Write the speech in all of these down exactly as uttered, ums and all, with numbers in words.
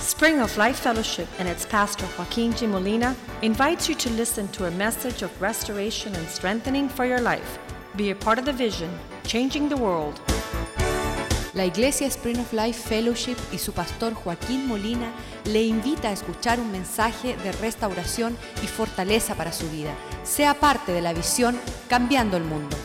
Spring of Life Fellowship and its pastor Joaquin G. Molina invites you to listen to a message of restoration and strengthening for your life. Be a part of the vision, changing the world. La Iglesia Spring of Life Fellowship y su pastor Joaquín Molina le invita a escuchar un mensaje de restauración y fortaleza para su vida. Sea parte de la visión Cambiando el Mundo.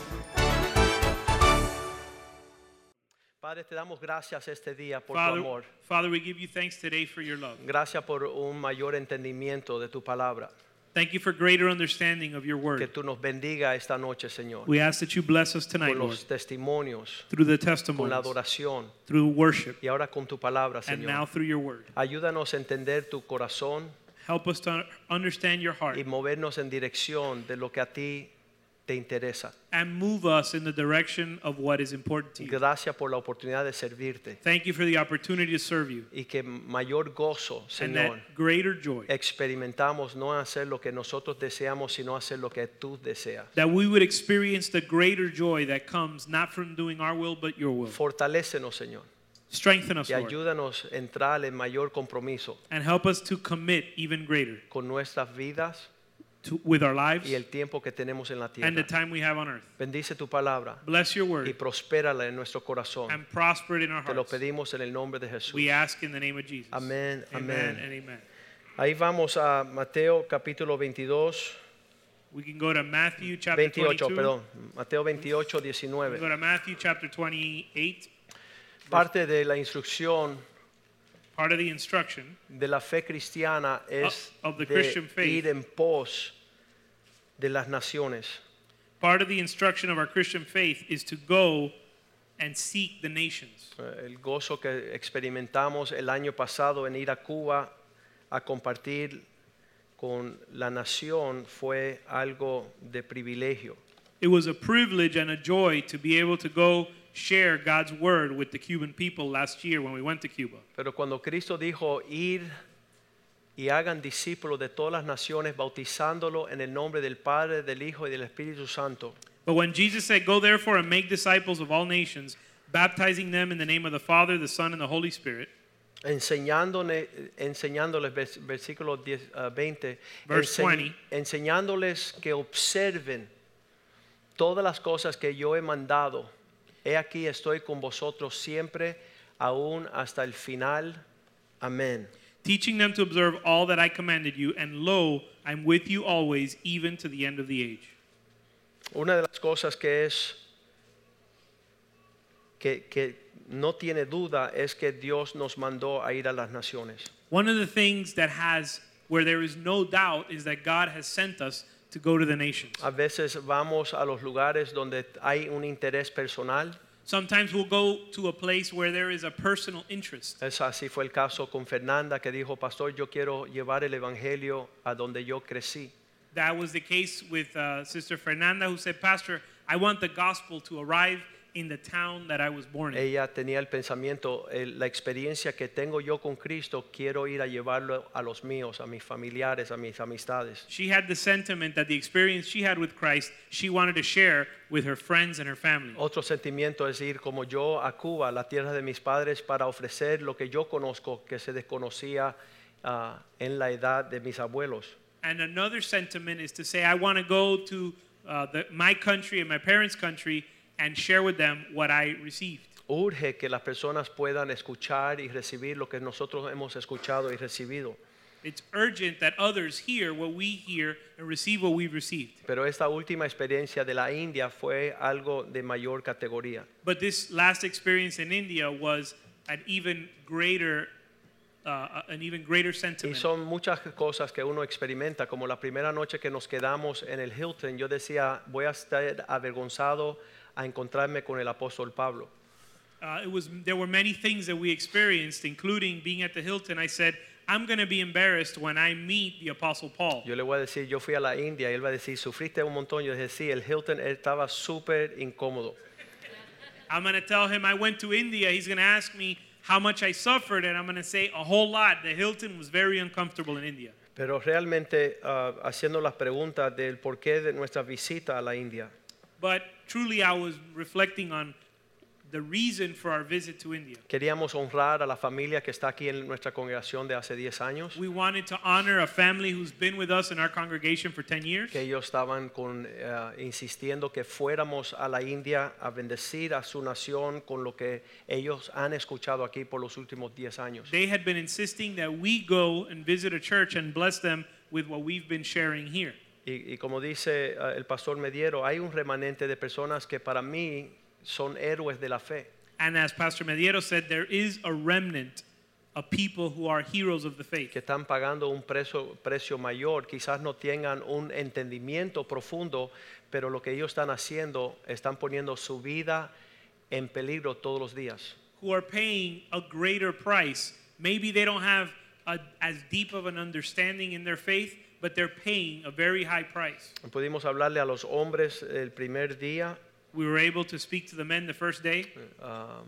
Padre, te damos gracias este día por Father, tu amor. Father, we give you thanks today for your love. Gracias por un mayor entendimiento de tu palabra. Thank you for greater understanding of your Que word. tú nos bendiga esta noche, Señor. We ask that you bless us tonight, Con Lord, los testimonios, through the con la testimonies, adoración through worship, y ahora con tu palabra, and now Señor. through your word. Ayúdanos a entender tu corazón Help us to understand your heart y movernos en dirección de lo que a ti te interesa. and move us in the direction of what is important to you. Gracias por la oportunidad de servirte Thank you for the opportunity to serve you, y que mayor gozo, and Señor, that greater joy, experimentamos no hacer lo que nosotros deseamos, sino hacer lo que tú deseas. that we would experience the greater joy that comes not from doing our will but your will. Fortalécenos, Señor, Strengthen us, y Lord, ayúdanos a entrar en mayor compromiso and help us to commit even greater con nuestras vidas to, with our lives y el tiempo que tenemos en la and the tierra. time we have on earth. Bendice tu palabra Bless your y word prospérala en nuestro corazón. and prosper it in our Te lo hearts. pedimos en el nombre de Jesús. We ask in the name of Jesus. Amén, Amen amén. and amen. Ahí vamos a Mateo capítulo veintidós, We can go to Matthew chapter veintiocho, twenty-two. perdón. Mateo veintiocho, We can go diecinueve. to Matthew chapter twenty-eight. Parte de la instrucción Part of the instruction de la fe cristiana es Of- of the de Christian faith. ir en pos de las naciones. Part of the instruction of our Christian faith is to go and seek the nations. Eh, El gozo que experimentamos el año pasado en ir a Cuba a compartir con la nación fue algo de privilegio. It was a privilege and a joy to be able to go share God's word with the Cuban people last year when we went to Cuba. Pero cuando Cristo dijo ir y hagan discípulos de todas las naciones bautizándolo en el nombre del Padre, del Hijo y del Espíritu Santo, But when Jesus said, "Go therefore and make disciples of all nations, baptizing them in the name of the Father, the Son, and the Holy Spirit," enseñándole, enseñándoles, vers- versículo diez, ah, veinte, Verse ense- twenty. enseñándoles que observen todas las cosas que yo he mandado. He aquí estoy con vosotros siempre, aún hasta el final. Amén. teaching them to observe all that I commanded you, and lo, I'm with you always, even to the end of the age. Una de las cosas que es que, que no tiene duda es que Dios nos mandó a ir a las naciones. One of the things that has, where there is no doubt, is that God has sent us to go to the nations. A veces vamos a los lugares donde hay un interés personal. Sometimes we'll go to a place where there is a personal interest. Es así fue el caso con Fernanda, que dijo: pastor, yo quiero llevar el evangelio a donde yo crecí. That was the case with uh, Sister Fernanda, who said, "Pastor, I want the gospel to arrive in the town that I was born in." Ella tenía el pensamiento, el- la experiencia que tengo yo con Cristo, quiero ir a llevarlo a los míos, a mis familiares, a mis amistades. She had the sentiment that the experience she had with Christ, she wanted to share with her friends and her family. Otro sentimiento es ir como yo a Cuba, la tierra de mis padres, para ofrecer lo que yo conozco, que se desconocía ah, en la edad de mis abuelos. And another sentiment is to say, I want to go to uh, the, my country and my parents' country and share with them what I received. Urge que las personas puedan escuchar y recibir lo que nosotros hemos escuchado y recibido. It's urgent that others hear what we hear and receive what we've received. Pero esta última experiencia de la India fue algo de mayor categoría. But this last experience in India was an even greater, uh, an even greater Y sentiment. son muchas cosas que uno experimenta, como la primera noche que nos quedamos en el Hilton, yo decía, voy a estar avergonzado a encontrarme con el apóstol Pablo. Uh, it was, there were many things that we experienced, including being at the Hilton. I said, I'm going to be embarrassed when I meet the Apostle Paul. Yo le voy a decir, yo fui a la India y él va a decir, ¿sufriste un montón? Yo dije, sí, el Hilton él estaba súper incómodo. I'm going to tell him I went to India. He's going to ask me how much I suffered, and I'm going to say a whole lot. The Hilton was very uncomfortable in India. Pero realmente uh, haciendo las preguntas del porqué de nuestra visita a la India, But truly, I was reflecting on the reason for our visit to India. Queríamos honrar a la familia que está aquí en nuestra congregación de hace diez años, We wanted to honor a family who's been with us in our congregation for ten years. que ellos estaban con, eh, insistiendo que fuéramos a la India a bendecir a su nación con lo que ellos han escuchado aquí por los últimos diez años. They had been insisting that we go and visit a church and bless them with what we've been sharing here. Y, y como dice uh, el pastor Mediero, hay un remanente de personas que para mí son héroes de la fe. And as Pastor Mediero said, there is a remnant of people who are heroes of the faith. Que están pagando un precio, precio mayor, quizás no tengan un entendimiento profundo, pero lo que ellos están haciendo, están poniendo su vida en peligro todos los días. Who are paying a greater price. Maybe they don't have a, as deep of an understanding in their faith, but they're paying a very high price. Pudimos hablarle a los hombres el primer día. We were able to speak to the men the first day. Uh,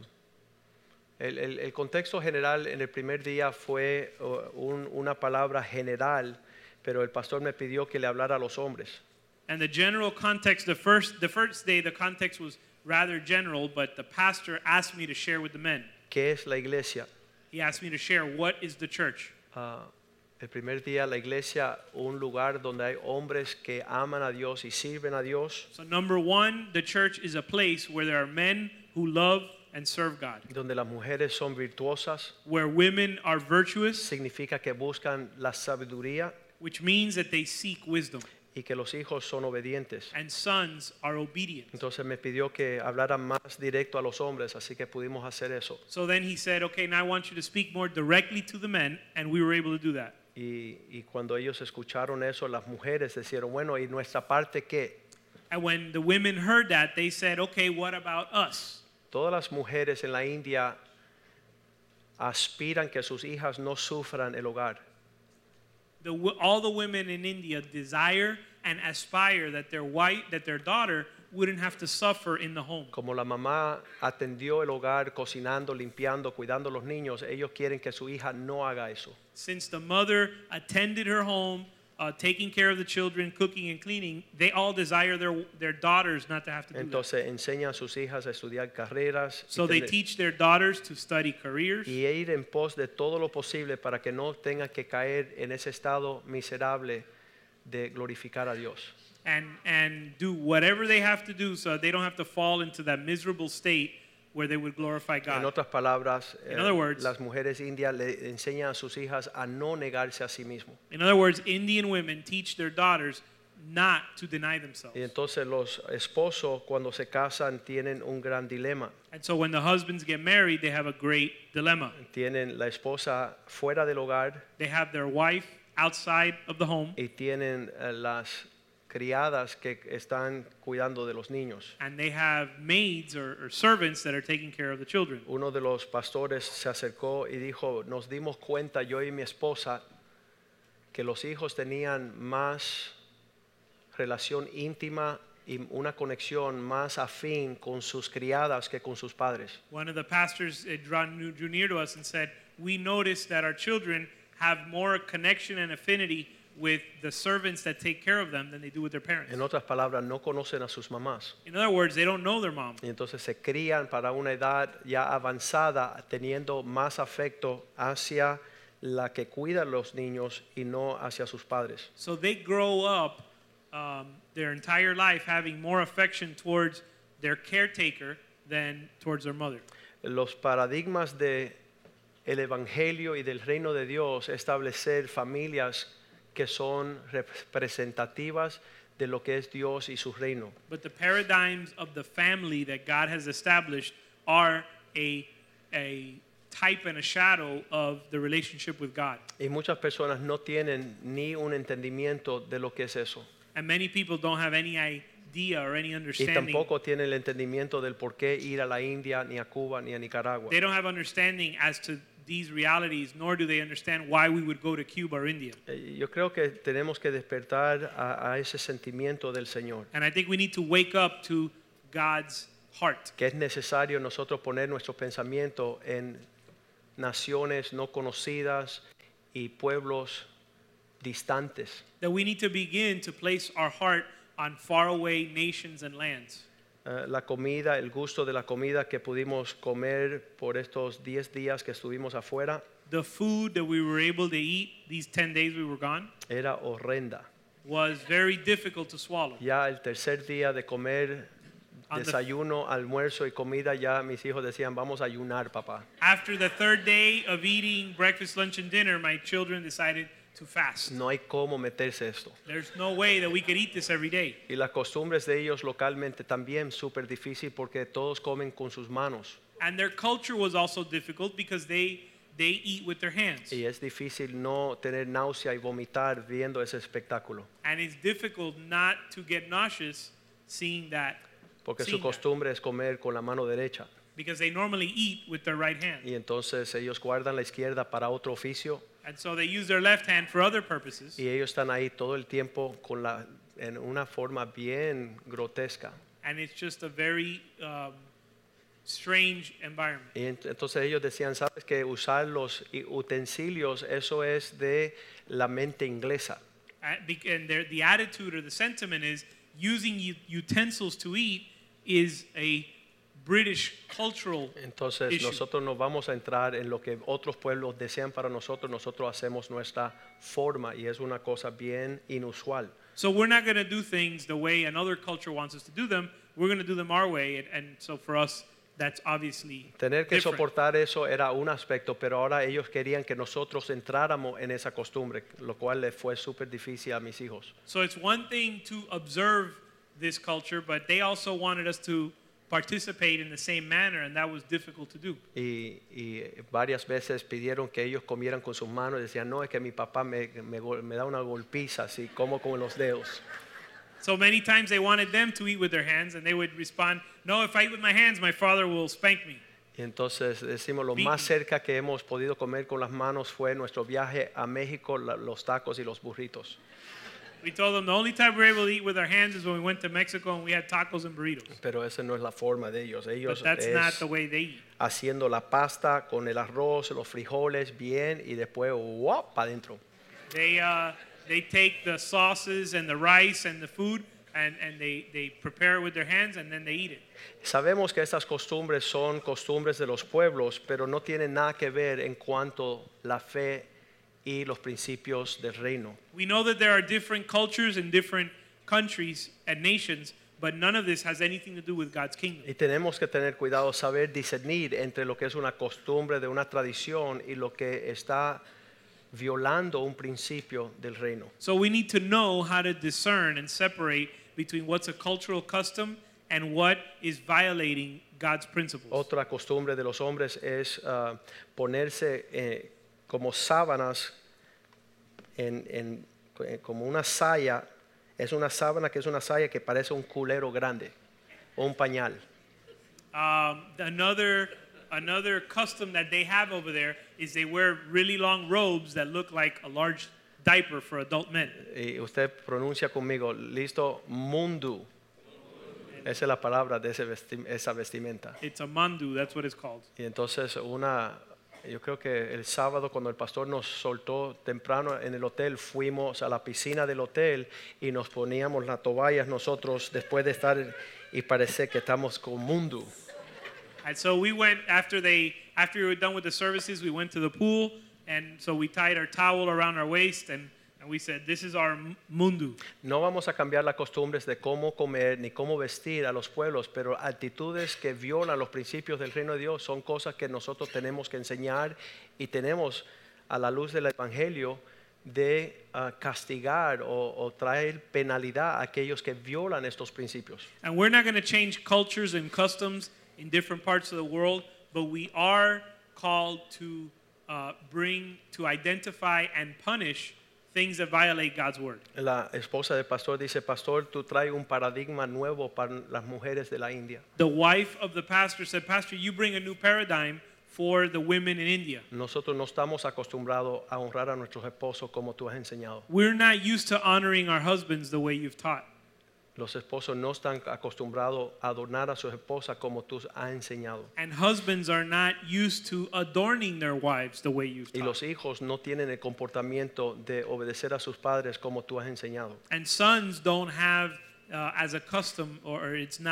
el, el, el contexto general en el primer día fue uh, un, una palabra general, pero el pastor me pidió que le hablara a los hombres. And the general context, the first, the first day, the context was rather general, but the pastor asked me to share with the men. ¿Qué es la iglesia? He asked me to share what is the church. Uh, el primer día la iglesia, un lugar donde hay hombres que aman a Dios y sirven a Dios. So number one, the church is a place where there are men who love and serve God. Donde las mujeres son virtuosas. Where women are virtuous. Significa que buscan la sabiduría. Which means that they seek wisdom. Y que los hijos son obedientes. And sons are obedient. Entonces me pidió que hablara más directo a los hombres, así que pudimos hacer eso. So then he said, okay, now I want you to speak more directly to the men, and we were able to do that. Y, y cuando ellos escucharon eso, las mujeres dijeron, bueno, ¿y nuestra parte qué? And when the women heard that, they said, okay, what about us? Todas las mujeres en la India aspiran que sus hijas no sufran el hogar. The, all the women in India desire and aspire that their wife, that their daughter wouldn't have to suffer in the home. Como la mamá atendió el hogar, cocinando, limpiando, cuidando a los niños, ellos quieren que su hija no haga eso. Since the mother attended her home, uh, taking care of the children, cooking and cleaning, they all desire their their daughters not to have to do Entonces that. enseñan a sus hijas a estudiar carreras. So they teach their daughters to study careers. Y ir en pos de todo lo posible para que no tengan que caer en ese estado miserable de glorificar a Dios. And and do whatever they have to do so they don't have to fall into that miserable state where they would glorify God. En otras palabras, In eh, other words, las mujeres indias le enseñan a sus hijas a no negarse a sí mismos. In other words, Indian women teach their daughters not to deny themselves. Y entonces los esposos cuando se casan tienen un gran dilema. And so when the husbands get married, they have a great dilemma. Tienen la esposa fuera del hogar. They have their wife outside of the home. Y tienen uh, las criadas que están cuidando de los niños. And they have maids or, or servants that are taking care of the children. Uno de los pastores se acercó y dijo, nos dimos cuenta yo y mi esposa que los hijos tenían más relación íntima y una conexión más afín con sus criadas que con sus padres. One of the pastors uh, drew, drew near to us and said, we noticed that our children have more connection and affinity with the servants that take care of them than they do with their parents. En otras palabras, no conocen a sus mamás. In other words, they don't know their mom. Y entonces se crían para una edad ya avanzada, teniendo más afecto hacia la que cuida a los niños y no hacia sus padres. So they grow up um, their entire life having more affection towards their caretaker than towards their mother. Los paradigmas de el evangelio y del reino de Dios, establecer familias que son representativas de lo que es Dios y su reino. But the paradigms of the family that God has established are a, a type and a shadow of the relationship with God. Y muchas personas no tienen ni un entendimiento de lo que es eso. And many people don't have any idea or any Y understanding. tampoco tienen el entendimiento del por qué ir a la India, ni a Cuba, ni a Nicaragua. They don't have understanding as to these realities, nor do they understand why we would go to Cuba or India. Eh, Yo creo que tenemos que despertar a, a ese sentimiento del Señor. And I think we need to wake up to God's heart. Que es necesario nosotros poner nuestro pensamiento en naciones no conocidas y pueblos distantes. That we need to begin to place our heart on faraway nations and lands. uh, la comida, el gusto de la comida que pudimos comer por estos diez días que estuvimos afuera The food that we were able to eat these ten days we were gone era horrenda. was very difficult to swallow. Ya el tercer día de comer On the- desayuno, almuerzo y comida, ya mis hijos decían, vamos a ayunar, papá. After the third day of eating breakfast, lunch, and dinner, my children decided to fast. No hay cómo meterse esto. There's no way that we could eat this every day. Y las costumbres de ellos localmente también súper difícil porque todos comen con sus manos. And their culture was also difficult because they they eat with their hands. Y es difícil no tener náusea y vomitar viendo ese espectáculo. And it's difficult not to get nauseous seeing that. Porque su seeing that. costumbre es comer con la mano derecha. Because they normally eat with their right hand. Y entonces ellos guardan la izquierda para otro oficio. And so they use their left hand for other purposes. Y ellos están ahí todo el tiempo con la, en una forma bien grotesca. And it's just a very um, strange environment. Y ent- entonces ellos decían, sabes que usar los i- utensilios, eso es de la mente inglesa. Uh, bec- And their, the attitude or the sentiment is using u- utensils to eat is a British cultural Entonces issue. nosotros no vamos a entrar en lo que otros pueblos desean para nosotros, nosotros hacemos nuestra forma y es una cosa bien inusual. So we're not going to do things the way another culture wants us to do them. We're going to do them our way. And, and so for us, that's obviously Tener que different. soportar eso era un aspecto, pero ahora ellos querían que nosotros entráramos en esa costumbre, lo cual le fue súper difícil a mis hijos. So it's one thing to observe this culture, but they also wanted us to participate in the same manner, and that was difficult to do. Y, y varias veces pidieron que ellos comieran con sus manos y decían, no, es que mi papá me, me, gol- me da una golpiza así, como con los dedos. So many times they wanted them to eat with their hands, and they would respond, no, if I eat with my hands, my father will spank me. Y entonces decimos, lo Beaten. más cerca que hemos podido comer con las manos fue nuestro viaje a México, la- los tacos y los burritos. We told them the only time we were able to eat with our hands is when we went to Mexico and we had tacos and burritos. Pero esa no es la forma de ellos. But Ellos that's not es the way they eat. haciendo la pasta con el arroz, los frijoles bien y después ¡guap! Para adentro. They, uh, they take the sauces and the rice and the food and, and they, they prepare it with their hands and then they eat it. Sabemos que estas costumbres son costumbres de los pueblos, pero no tienen nada que ver en cuanto la fe y los principios del reino. We know that there are different cultures in different countries and nations, but none of this has anything to do with God's kingdom. Y tenemos que tener cuidado, saber discernir entre lo que es una costumbre de una tradición y lo que está violando un principio del reino. So we need to know how to discern and separate between what's a cultural custom and what is violating God's principles. Otra costumbre de los hombres es ah, ponerse eh, como sábanas en, en- eh, como una saya. Es una sábana que es una saya que parece un culero grande o un pañal. Um, another another custom that they have over there is they wear really long robes that look like a large diaper for adult men. Y usted pronuncia conmigo, listo, mundu. Esa es la palabra de ese vesti- esa vestimenta. It's a mandu, that's what it's called. Y entonces una, yo creo que el sábado cuando el pastor nos soltó temprano en el hotel, fuimos a la piscina del hotel y nos poníamos las toallas nosotros después de estar y parece que estamos con mundu. And so we went after they after we were done with the services, we went to the pool, and so we tied our towel around our waist, and, and we said, "This is our m- mundu." No vamos a cambiar las costumbres de cómo comer ni cómo vestir a los pueblos, pero actitudes que violan los principios del reino de Dios son cosas que nosotros tenemos que enseñar y tenemos a la luz del evangelio de ah, castigar o, o traer penalidad a aquellos que violan estos principios. And we're not going to change cultures and customs in different parts of the world, but we are called to uh, bring, to identify and punish things that violate God's word. La esposa del pastor dice, pastor, tú traes un paradigma nuevo para las mujeres de la India. The wife of the pastor said, "Pastor, you bring a new paradigm for the women in India. Nosotros no estamos acostumbrados a honrar a nuestros esposos como tú has enseñado. We're not used to honoring our husbands the way you've taught." Los esposos no están acostumbrados a adornar a sus esposas como tú has enseñado. And husbands are not used to adorning their wives the way you've Y taught. los hijos no tienen el comportamiento de obedecer a sus padres como tú has enseñado. And sons don't have uh, as a custom, or it's not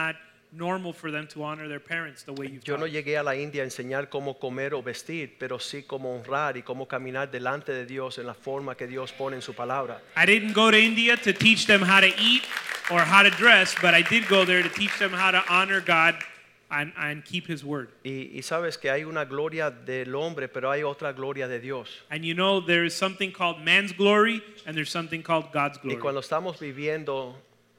normal for them to honor their parents the way you've Yo no taught. llegué a la India a enseñar cómo comer o vestir, pero sí cómo honrar y cómo caminar delante de Dios en la forma que Dios pone en su palabra. I didn't go to India to teach them how to eat or how to dress, but I did go there to teach them how to honor God and, and keep His word. Y, y sabes que hay una gloria del hombre, pero hay otra gloria de Dios. And you know there is something called man's glory and there's something called God's Y glory. cuando estamos viviendo,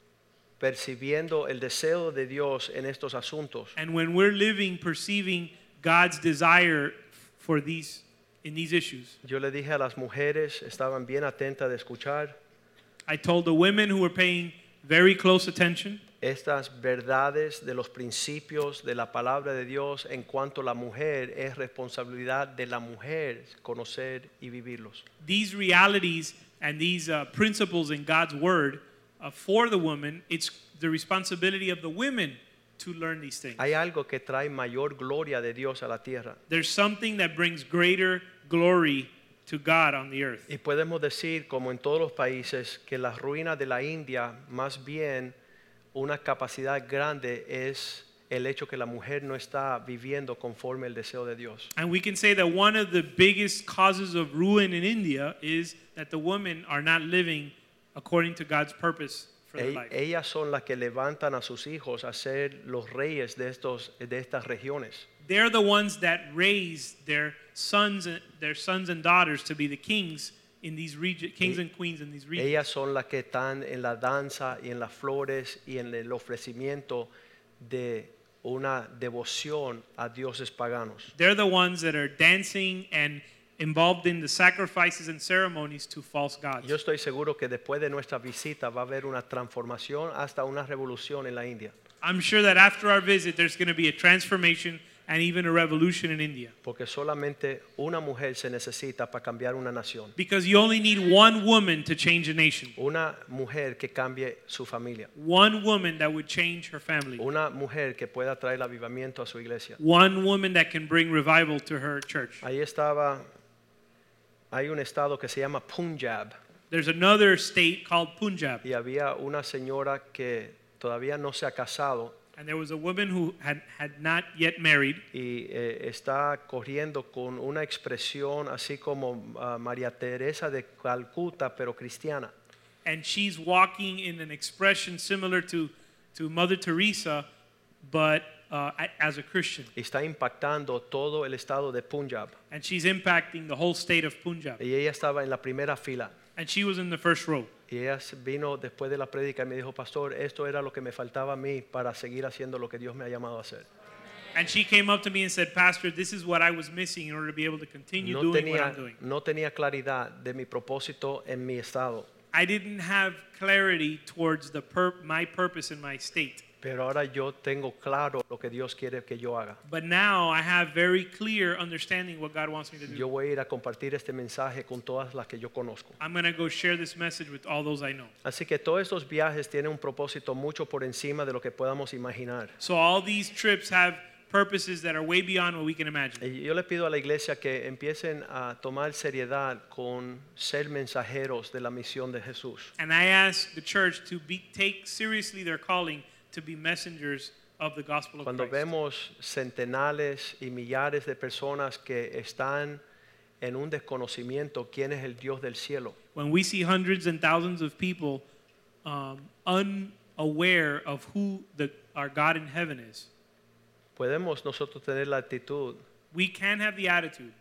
percibiendo el deseo de Dios en estos asuntos, And when we're living perceiving God's desire for these in these issues, yo le dije a las mujeres, estaban bien atentas de escuchar I told the women who were paying very close attention estas verdades de los principios de la palabra de Dios en cuanto a la mujer es responsabilidad de la mujer conocer y vivirlos. these realities and these uh, principles in God's word uh, for the woman. It's the responsibility of the women to learn these things. Hay algo que trae mayor gloria de Dios a la tierra. There's something that brings greater glory to God on the earth. Y podemos decir, como en todos los países, que las ruinas de la India, más bien una capacidad grande es el hecho que la mujer no está viviendo conforme el deseo de Dios. And we can say that one of the biggest causes of ruin in India is that the women are not living according to God's purpose for their E- life. ellas son las que levantan a sus hijos a ser los reyes de, estos, de estas regiones. They're the ones that raise their sons and their sons and daughters to be the kings in these regions, kings and queens in these regions. Ellas son las que están en la danza y en las flores y en el ofrecimiento de una devoción a dioses paganos. They're the ones that are dancing and involved in the sacrifices and ceremonies to false gods. Yo estoy seguro que después de nuestra visita va a haber una transformación hasta una revolución en la India. I'm sure that after our visit, there's going to be a transformation and even a revolution in India. Porque solamente una mujer se necesita para cambiar una nación. Because you only need one woman to change a nation. Una mujer que cambie su familia. One woman that would change her family. Una mujer que pueda traer el avivamiento a su iglesia. One woman that can bring revival to her church. Ahí estaba, hay un estado que se llama Punjab. There's another state called Punjab. Y había una señora que todavía no se ha casado And there was a woman who had, had not yet married. y eh, está corriendo con una expresión así como uh, María Teresa de Calcuta, pero cristiana. And she's walking in an expression similar to, to Mother Teresa, but uh, a- as a Christian. Y está impactando todo el estado de Punjab. And she's impacting the whole state of Punjab. Y ella estaba en la primera fila. And she was in the first row. Y ella vino después de la prédica y me dijo, pastor, esto era lo que me faltaba a mí para seguir haciendo lo que Dios me ha llamado a hacer. And she came up to me and said, Pastor, this is what I was missing in order to be able to continue No doing what tenía, I'm doing. no tenía claridad de mi propósito en mi estado, I didn't have clarity towards the pur- my purpose in my state. pero ahora yo tengo claro lo que Dios quiere que yo haga. But now I have very clear understanding what God wants me to do. Yo voy a ir a compartir este mensaje con todas las que yo conozco. I'm going to go share this message with all those I know. Así que todos estos viajes tienen un propósito mucho por encima de lo que podamos imaginar. So all these trips have purposes that are way beyond what we can imagine. Y yo le pido a la iglesia que empiecen a tomar seriedad con ser mensajeros de la misión de Jesús. And I ask the church to be, take seriously their calling to be messengers of the gospel of Cuando Christ. vemos centenares y millares de personas que están en un desconocimiento quién es el Dios del cielo, When we see hundreds and thousands of people um, unaware of who the, our God in heaven is, podemos nosotros tener la actitud we can have the attitude,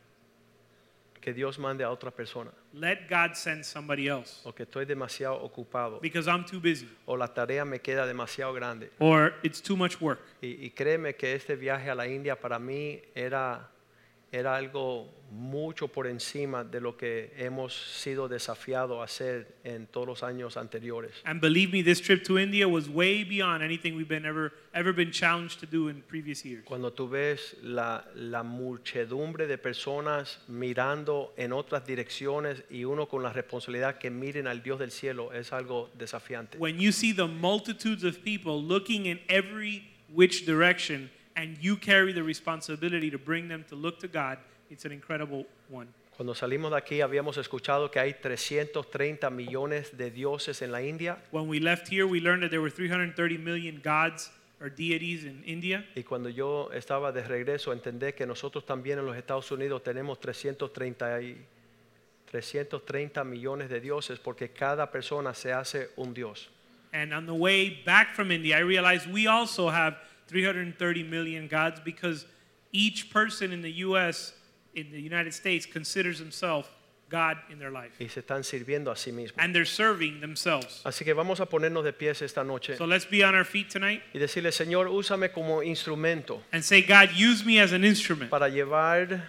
que Dios mande a otra persona, let God send somebody else o que estoy demasiado ocupado, because I'm too busy o la tarea me queda demasiado grande. or it's too much work. Y, y créeme que este viaje a la India para mí era, era algo mucho por encima de lo que hemos sido desafiados a hacer en todos los años anteriores. And believe me, this trip to India was way beyond anything we've been ever ever been challenged to do in previous years. Cuando tú ves la, la muchedumbre de personas mirando en otras direcciones y uno con la responsabilidad que miren al Dios del cielo, es algo desafiante. When you see the multitudes of people looking in every which direction and you carry the responsibility to bring them to look to God, it's an incredible one. Cuando salimos de aquí habíamos escuchado que hay trescientos treinta millones de dioses en la India. When we left here, we learned that there were three hundred thirty million gods or deities in India. Y cuando yo estaba de regreso, entendí que nosotros también en los Estados Unidos tenemos trescientos treinta, y, trescientos treinta millones de dioses porque cada persona se hace un dios. And on the way back from India, I realized we also have three hundred thirty million gods because each person in the U S, in the United States, considers himself God in their life. Y se están sirviendo a sí mismos. And they're serving themselves. Así que vamos a ponernos de pies esta noche So let's be on our feet tonight y decirle, Señor, úsame como instrumento and say, God, use me as an instrument para llevar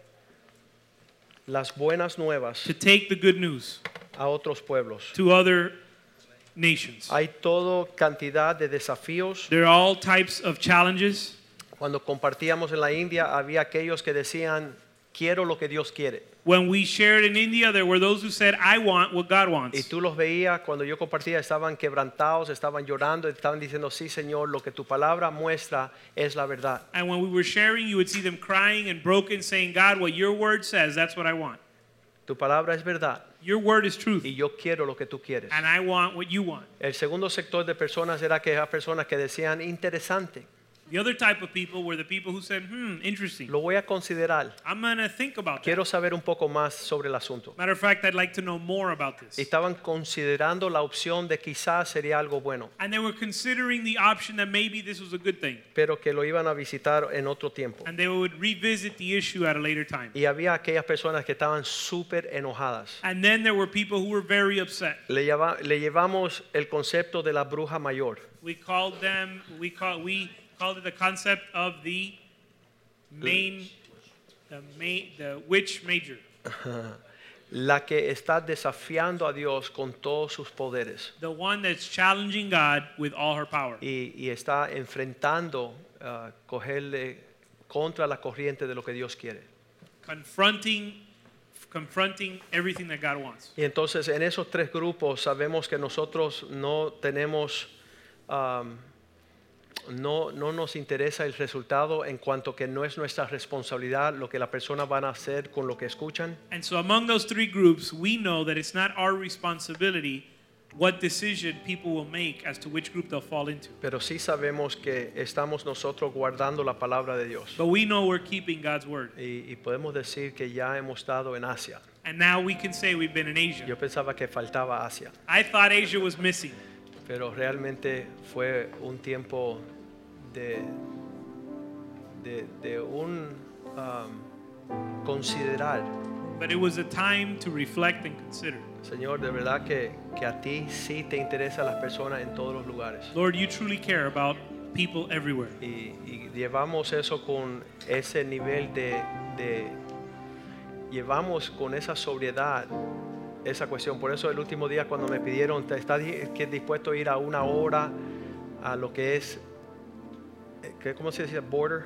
las buenas nuevas to take the good news a otros pueblos. to other nations. Hay toda cantidad de desafíos. There are all types of challenges. Cuando compartíamos en la India, había aquellos que decían, quiero lo que Dios quiere. When we shared in India, there were those who said, I want what God Y wants. tú los veías cuando yo compartía, estaban quebrantados, estaban llorando, estaban diciendo, sí, Señor, lo que tu palabra muestra es la verdad. And when we were sharing, you would see them crying and broken, saying, God, what your word says, that's what I want. Tu palabra es verdad Your word is truth, y yo quiero lo que tú quieres. and I want what you want. El segundo sector de personas era aquellas personas que decían, interesante, The other type of people were the people who said, hmm, interesting. lo voy a considerar. I'm going to think about that. Quiero saber un poco más sobre el asunto. Matter of fact, I'd like to know more about this. Y estaban considerando la opción de quizás sería algo bueno, And they were considering the option that maybe this was a good thing. pero que lo iban a visitar en otro tiempo. And they would revisit the issue at a later time. Y había aquellas personas que estaban súper enojadas. And then there were people who were very upset. Le, lleva- le llevamos el concepto de la bruja mayor. We called them, we call, we called it the concept of the main, the main, the witch major. La que está desafiando a Dios con todos sus poderes. The one that's challenging God with all her power. Y, y está enfrentando, uh, cogerle contra la corriente de lo que Dios quiere. Confronting, confronting everything that God wants. Y entonces en esos tres grupos sabemos que nosotros no tenemos, um, no, no nos interesa el resultado en cuanto que no es nuestra responsabilidad lo que la persona van a hacer con lo que escuchan. And so among those three groups, we know that it's not our responsibility what decision people will make as to which group they'll fall into. Pero sí sabemos que estamos nosotros guardando la palabra de Dios. But we know we're keeping God's word. Y, y podemos decir que ya hemos estado en Asia. And now we can say we've been in Asia. Yo pensaba que faltaba Asia, I thought Asia was missing. pero realmente fue un tiempo de, de, de un um, considerar. But it was a time to reflect and consider. Señor, de verdad que, que a ti sí te interesan las personas en todos los lugares. Lord, you truly care about people everywhere. Y, y llevamos eso con ese nivel de, de, llevamos con esa sobriedad esa cuestión. Por eso el último día cuando me pidieron, ¿estás dispuesto a ir a una hora a lo que es, ¿cómo se dice? Border.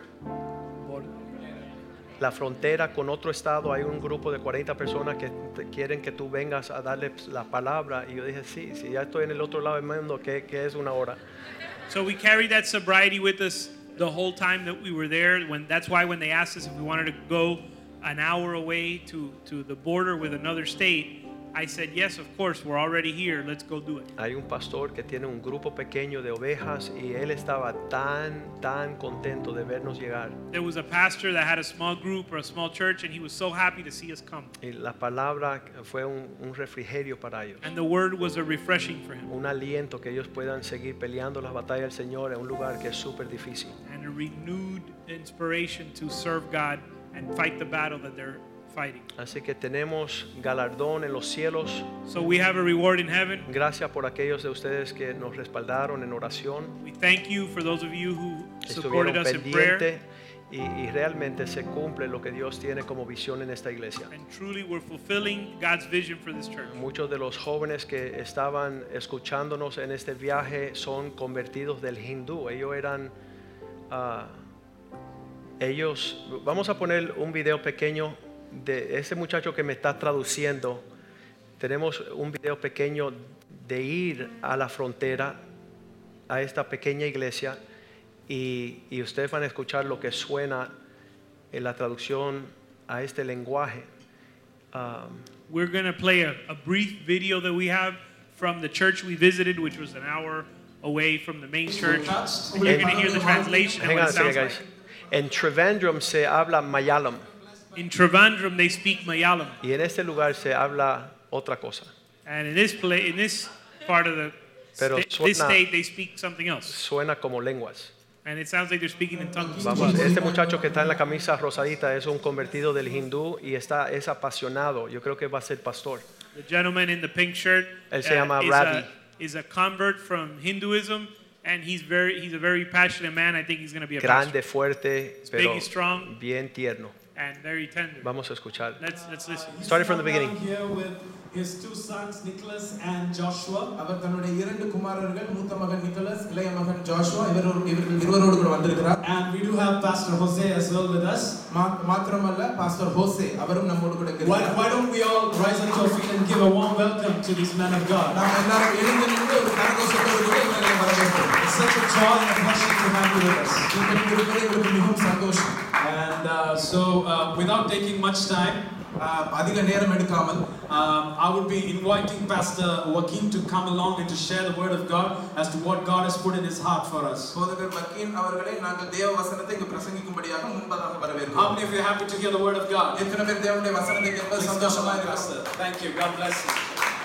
La frontera con otro estado, hay un grupo de cuarenta personas que te quieren que tú vengas a darle la palabra. Y yo dije, sí, si ya estoy en el otro lado del mundo, ¿qué, qué es una hora? So we carried that sobriety with us the whole time that we were there. When, that's why when they asked us if we wanted to go an hour away to, to the border with another state, I said, yes, of course, we're already here. Let's go do it. Hay un pastor que tiene un grupo pequeño de ovejas y él estaba tan, tan contento de vernos llegar. There was a pastor that had a small group or a small church, and he was so happy to see us come. Y la palabra fue un, un refrigerio para ellos. And the word was a refreshing for him. Un aliento que ellos puedan seguir peleando las batallas del Señor en un lugar que es súper difícil. And a renewed inspiration to serve God and fight the battle that they're fighting. Así que tenemos galardón en los cielos. So we have a reward in heaven. Gracias por aquellos de ustedes que nos respaldaron en oración. We thank you for those of you who supported Estuvieron us in prayer. pendientes y, y realmente se cumple lo que Dios tiene como visión en esta iglesia. And truly we're fulfilling God's vision for this church. Muchos de los jóvenes que estaban escuchándonos en este viaje son convertidos del hindú. Ellos eran, uh, ellos, vamos a poner un video pequeño de ese muchacho que me está traduciendo. Tenemos un video pequeño de ir a la frontera, a esta pequeña iglesia, y, y ustedes van a escuchar lo que suena en la traducción a este lenguaje. Um, We're going to play a, a brief video that we have from the church we visited, which was an hour away from the main church. touched. And you're going to hear the translation and Hang what on it a second, sounds guys. like. En Trivandrum se habla Malayalam In Trivandrum, they speak Malayalam. y en este lugar se habla otra cosa. And in this play, in this part of the Pero sta- this suena- state, they speak something else. Suena como lenguas. And it sounds like they're speaking in tongues. Vamos, este muchacho que está en la camisa rosadita es un convertido del hindú y está es apasionado. Yo creo que va a ser pastor. The gentleman in the pink shirt Él se llama is, Ravi. a, is a convert from Hinduism, and he's very he's a very passionate man. I think he's going to be a Grande, pastor fuerte, big pero and strong. bien tierno. and very tender. Vamos a escuchar. Let's let's listen. Starting from the beginning. Here with his two sons, Nicholas and Joshua. அவர் தன்னுடைய இரண்டு குமாரர்கள் மூத்த மகன் நிக்கோலஸ் இளைய மகன் ஜோஷுவா இவரோடு இவர்கள் இருவரோடு கூட வந்திருக்கிறார். And we do have Pastor Jose as well with us. மாத்திரமல்ல பாஸ்டர் ஹோசே அவரும் நம்மோடு கூட Why, இருக்கிறார். why don't we all rise up to our feet and give a warm welcome to these men of God? நாம் எல்லாரும் எழுந்து நின்று ஒரு கரகோஷத்தோடு கூட இவர்களை வரவேற்போம். It's such a joy and a pleasure to have you with us. நீங்கள் இருப்பது எங்களுக்கு மிகவும் சந்தோஷம். And uh, so, uh, without taking much time, அதிக நேரம் எடுக்காமல் um, I would be inviting Pastor Joaquin to come along and to share the word of God as to what God has put in his heart for us. போதகர் வக்கீல் அவர்களை நாங்கள் தேவ வசனத்தை இங்கு பிரசங்கிக்கும்படியாக முன்பதாக வரவேற்கிறோம். How many of you are happy to hear the word of God? எத்தனை பேர் தேவனுடைய வசனத்தை கேட்பது சந்தோஷமா Please come, இருக்கிறார்? Pastor. Thank you. God bless you.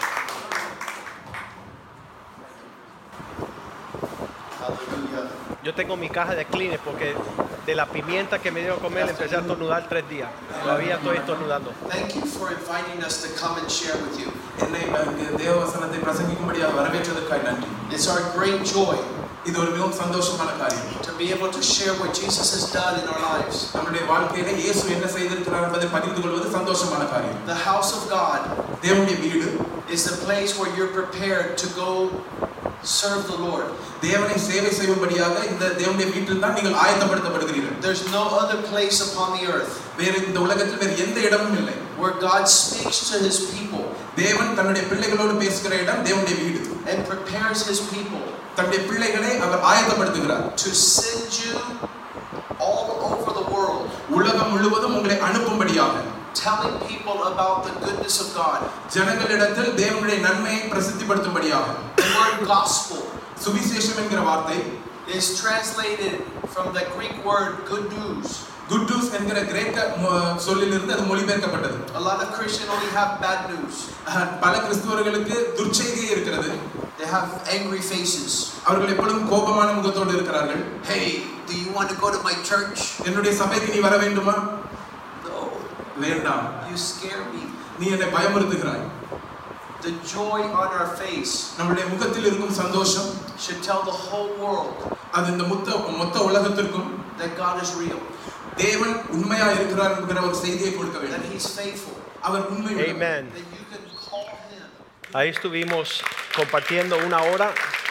Yo tengo mi caja de Kleenex porque de la pimienta que me dio a comer empecé a estornudar tres días. Todavía estoy estornudando. Thank you for inviting us to come and share with you. என்னை இங்கு தேவ வசனத்தை பிரசங்கிக்கும்படியாக வரவேற்றதற்காக நன்றி. It's our great joy இது ஒரு மிகவும் சந்தோஷமான காரியம். to be able to share what Jesus has done in our lives. நம்முடைய வாழ்க்கையில இயேசு என்ன செய்திருக்கிறார் என்பதை பகிர்ந்து கொள்வது சந்தோஷமான காரியம். The house of God தேவனுடைய வீடு is the place where you're prepared to go serve the Lord. தேவனை சேவை செய்யும்படியாக இந்த தேவனுடைய வீட்டில் தான் நீங்கள் ஆயத்தப்படுத்தப்படுகிறீர்கள். There's no other place upon the earth வேறு இந்த உலகத்தில் வேறு எந்த இடமும் இல்லை. where God speaks to his people தேவன் தன்னுடைய பிள்ளைகளோடு பேசுகிற இடம் தேவனுடைய வீடு. and prepares his people தன்னுடைய பிள்ளைகளை அவர் ஆயத்தப்படுத்துகிறார். to send you all over the world, உலகம் முழுவதும் உங்களை அனுப்பும்படியாக telling people about the goodness of God. ஜனங்களிடத்தில் தேவனுடைய நன்மையை பிரசித்திப்படுத்தும்படியாக. The word gospel சுவிசேஷம் என்கிற வார்த்தை is translated from the Greek word good news. Good news என்கிற கிரேக்க சொல்லிலிருந்து அது மொழிபெயர்க்கப்பட்டது. A lot of Christians only have bad news. பல கிறிஸ்தவர்களுக்கு துர்ச்செய்தி இருக்கிறது. They have angry faces. அவர்கள் எப்பொழுதும் கோபமான முகத்தோடு இருக்கிறார்கள். Hey, do you want to go to my church? என்னுடைய சபைக்கு நீ வர வேண்டுமா? No. வேண்டாம். You scare me. நீ என்னை பயமுறுத்துகிறாய். The joy on our face நம்முடைய முகத்தில் இருக்கும் சந்தோஷம் should tell the whole world அது இந்த மொத்த மொத்த உலகத்திற்கும் that God is real. தேவன் உண்மையா இருக்கிறார் என்கிற ஒரு செய்தியை கொடுக்க That வேண்டும். he's faithful. அவர் உண்மையுள்ளவர். Amen. That you can call him. Ahí estuvimos compartiendo una hora.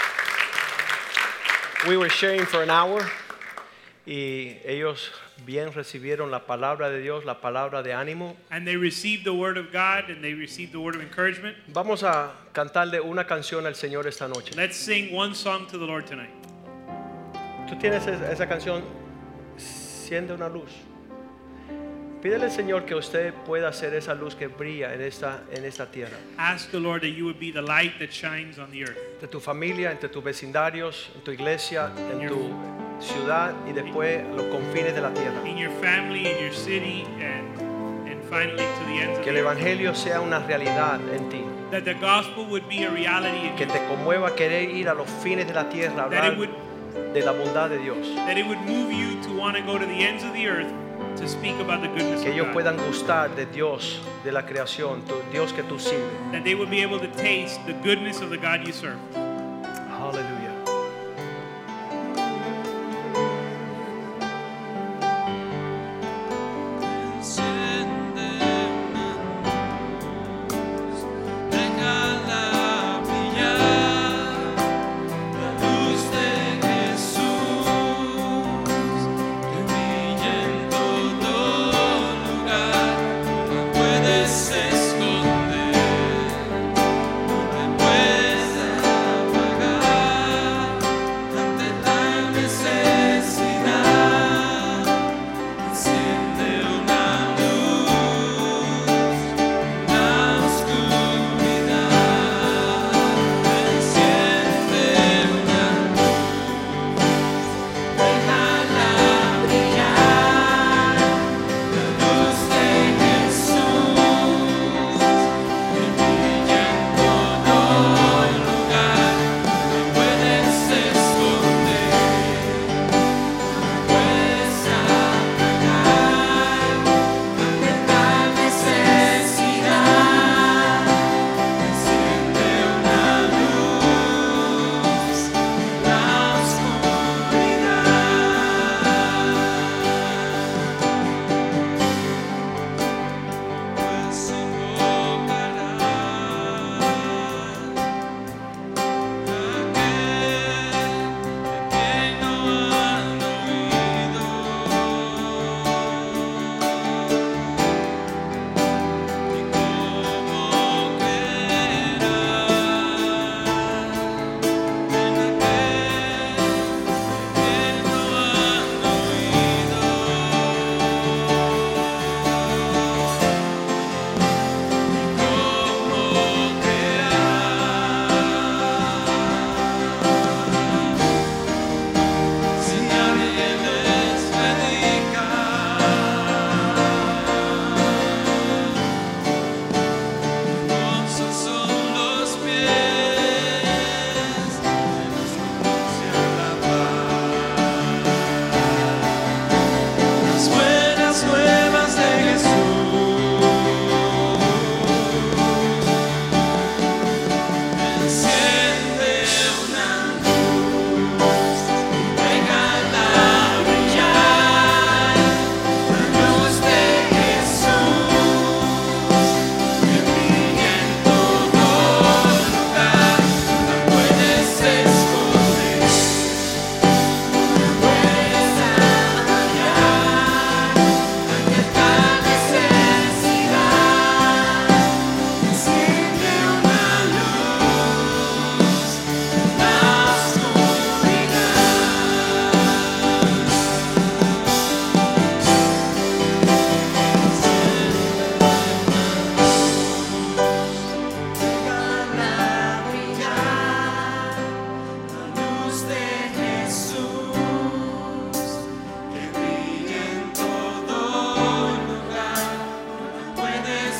We were sharing for an hour. Y ellos bien recibieron la palabra de Dios, la palabra de ánimo. And they received the word of God and they received the word of encouragement. Vamos a cantarle una canción al Señor esta noche. Let's sing one song to the Lord tonight. Tú tienes esa esa canción, Siendo una luz. Pídele al Señor que usted pueda ser esa luz que brilla en esta, en esta tierra. Ask the Lord that you would be the light that shines on the earth. Entre tu familia, entre tus vecindarios, en tu iglesia, en tu ciudad y después los confines de la tierra. In your family, in your city, and and finally to the ends of Que the el earth. evangelio sea una realidad en ti. That the gospel would be a reality in Que you. te conmueva querer ir a los fines de la tierra, That hablar it would de la bondad de Dios. that it would move you to want to go to the ends of the earth to speak about the goodness Que of ellos God. puedan gustar de Dios, de la creación, tu Dios que tú sirves. That they would be able to taste the goodness of the God you serve. Aleluya. Esconder, no te puedes apagar.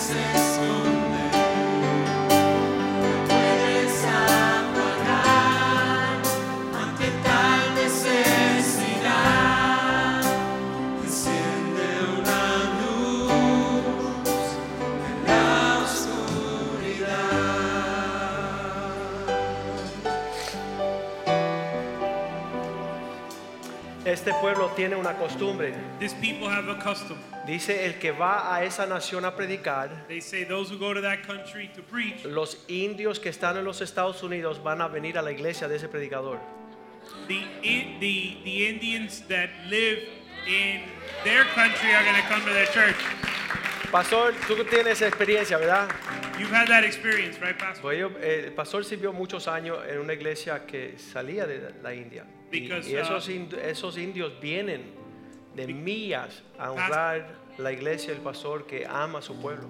Este pueblo tiene una costumbre. This people have a custom. Dice el que va a esa nación a predicar. They say those who go to that country to preach, Los indios que están en los Estados Unidos van a venir a la iglesia de ese predicador. the, I- the, the Indians that live in their country are going to come to their church. Pastor, tú tienes experiencia, ¿verdad? You've had that experience, right, Pastor? Pues yo, eh, el pastor sirvió muchos años en una iglesia que salía de la India. Y, Because, y esos, uh, ind- esos indios vienen de Be- millas a honrar la iglesia del pastor que ama a su pueblo.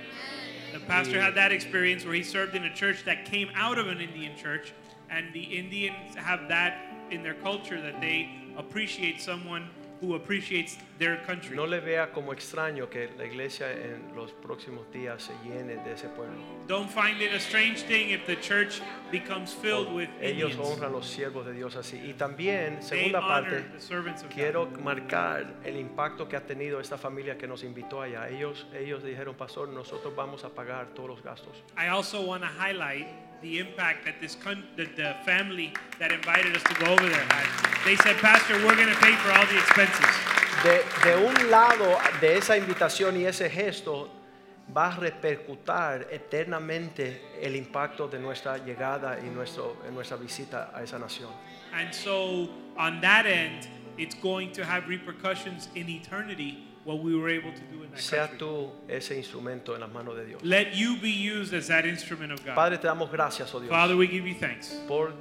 The pastor had that experience where he served in a church that came out of an Indian church, and the Indians have that in their culture that they appreciate someone who appreciates their country. No le vea como extraño que la iglesia en los próximos días se llene de ese pueblo. Don't find it a strange thing if the church becomes filled with Ellos Indians. honran a los siervos de Dios así. Y también, They segunda honor parte, the servants of quiero God. marcar el impacto que ha tenido esta familia que nos invitó allá. Ellos, ellos dijeron, pastor, nosotros vamos a pagar todos los gastos. I also want to highlight the impact that this con- that the family that invited us to go over there had. They said, Pastor, we're going to pay for all the expenses. De, de un lado de esa invitación y ese gesto va a repercutir eternamente el impacto de nuestra llegada y nuestro, en nuestra visita a esa nación. And so on that end, it's going to have repercussions in eternity what we were able to do in that Sea country. tú ese instrumento en las manos de Dios. Let you be used as that instrument of God. Padre, te damos gracias, oh Dios, Father, we give you thanks por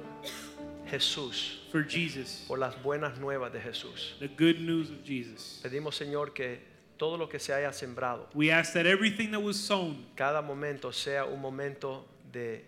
Jesús, for Jesus, por las buenas nuevas de Jesús. the good news of Jesus. Pedimos, Señor, que todo lo que se haya sembrado, We ask that everything that was sown, cada momento sea un momento de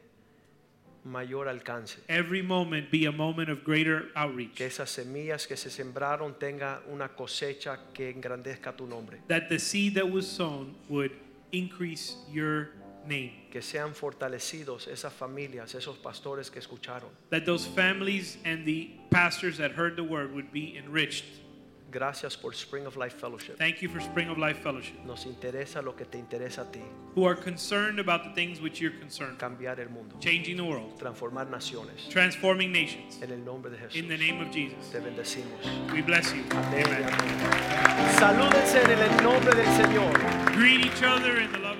mayor alcance. every moment be a moment of greater Que outreach. esas semillas que se sembraron tenga una cosecha que engrandezca tu nombre. That the seed that was sown would increase your name. Que sean fortalecidos esas familias, esos pastores que escucharon. That those families and the pastors that heard the word would be enriched. Gracias por Spring of Life Fellowship. Thank you for Spring of Life Fellowship, Nos interesa lo que te interesa a ti, who are concerned about the things which you're concerned, cambiar el mundo, changing the world, transformar naciones. transforming nations. En el nombre de Jesús. In the name of Jesus, Te bendecimos. we bless you. Amén y Amen. amén. Salúdense en el nombre del Señor. Greet each other in the love